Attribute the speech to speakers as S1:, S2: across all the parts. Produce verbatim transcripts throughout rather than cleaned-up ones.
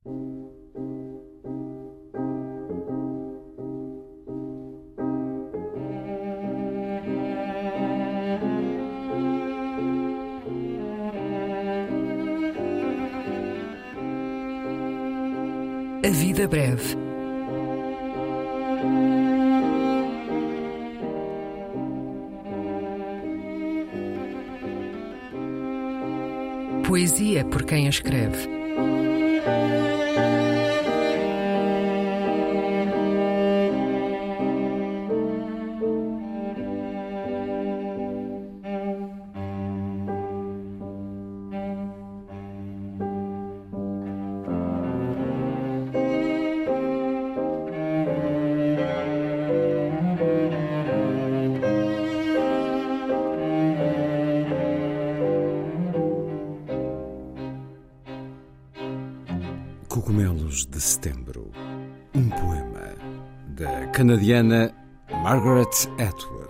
S1: A vida breve. Poesia por quem a escreve.
S2: Cogumelos de Setembro, um poema da canadiana Margaret Atwood.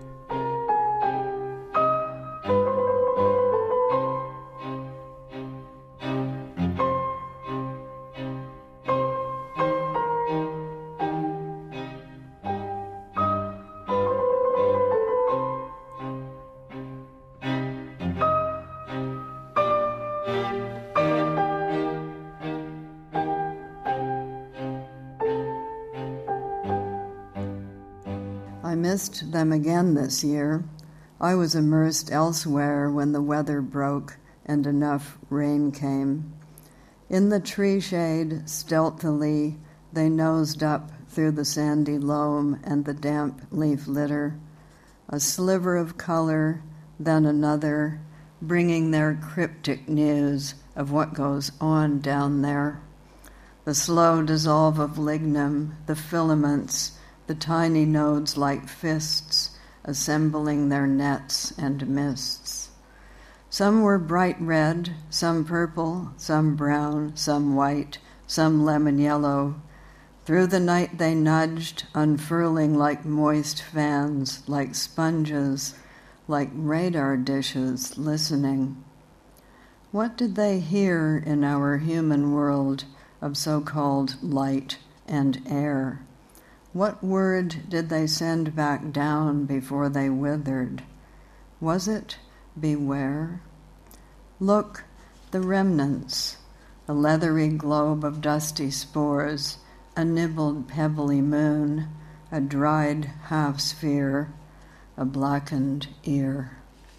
S3: I missed them again this year. I was immersed elsewhere when the weather broke and enough rain came. In the tree shade, stealthily, they nosed up through the sandy loam and the damp leaf litter. A sliver of color, then another, bringing their cryptic news of what goes on down there. The slow dissolve of lignum, the filaments, the tiny nodes like fists, assembling their nets and mists. Some were bright red, some purple, some brown, some white, some lemon yellow. Through the night they nudged, unfurling like moist fans, like sponges, like radar dishes, listening. What did they hear in our human world of so-called light and air? What word did they send back down before they withered? Was it beware? Look, the remnants, a leathery globe of dusty spores, a nibbled pebbly moon, a dried half-sphere, a blackened ear.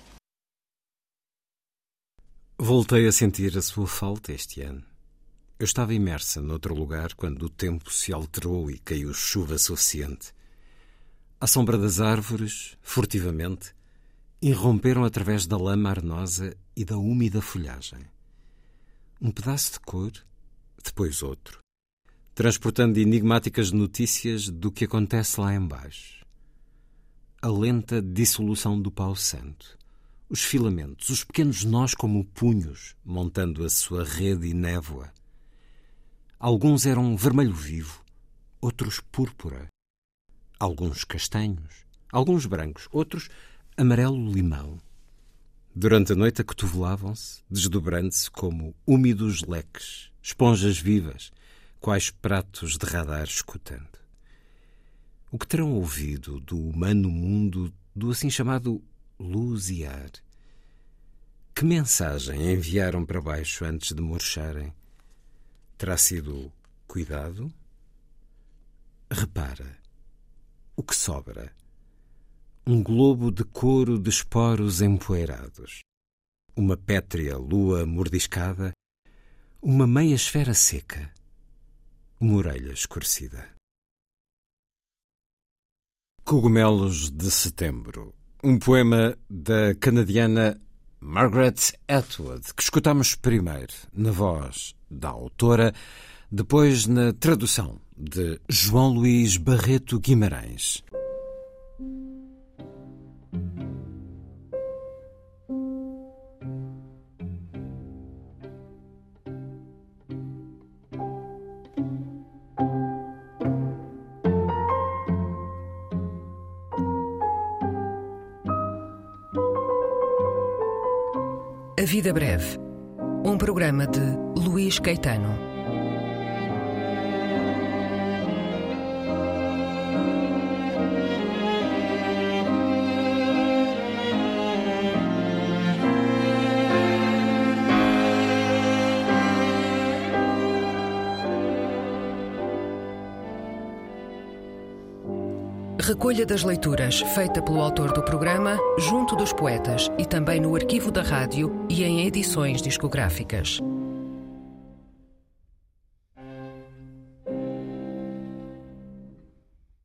S2: Voltei a sentir a sua falta este ano. Eu estava imersa noutro lugar quando o tempo se alterou e caiu chuva suficiente. À sombra das árvores, furtivamente, irromperam através da lama arenosa e da úmida folhagem. Um pedaço de cor, depois outro, transportando enigmáticas notícias do que acontece lá embaixo. A lenta dissolução do pau santo, os filamentos, os pequenos nós como punhos, montando a sua rede e névoa. Alguns eram vermelho vivo, outros púrpura, alguns castanhos, alguns brancos, outros amarelo-limão. Durante a noite acotovelavam-se, desdobrando-se como úmidos leques, esponjas vivas, quais pratos de radar escutando. O que terão ouvido do humano mundo do assim chamado luz e ar? Que mensagem enviaram para baixo antes de murcharem? Terá sido cuidado? Repara, o que sobra? Um globo de couro de esporos empoeirados, uma pétrea lua mordiscada, uma meia esfera seca, uma orelha escurecida. Cogumelos de Setembro, um poema da canadiana Margaret Atwood, que escutamos primeiro na voz da autora, depois na tradução de João Luís Barreto Guimarães.
S1: A Vida Breve, um programa de Luís Caetano. Recolha das leituras feita pelo autor do programa, junto dos poetas e também no arquivo da rádio e em edições discográficas.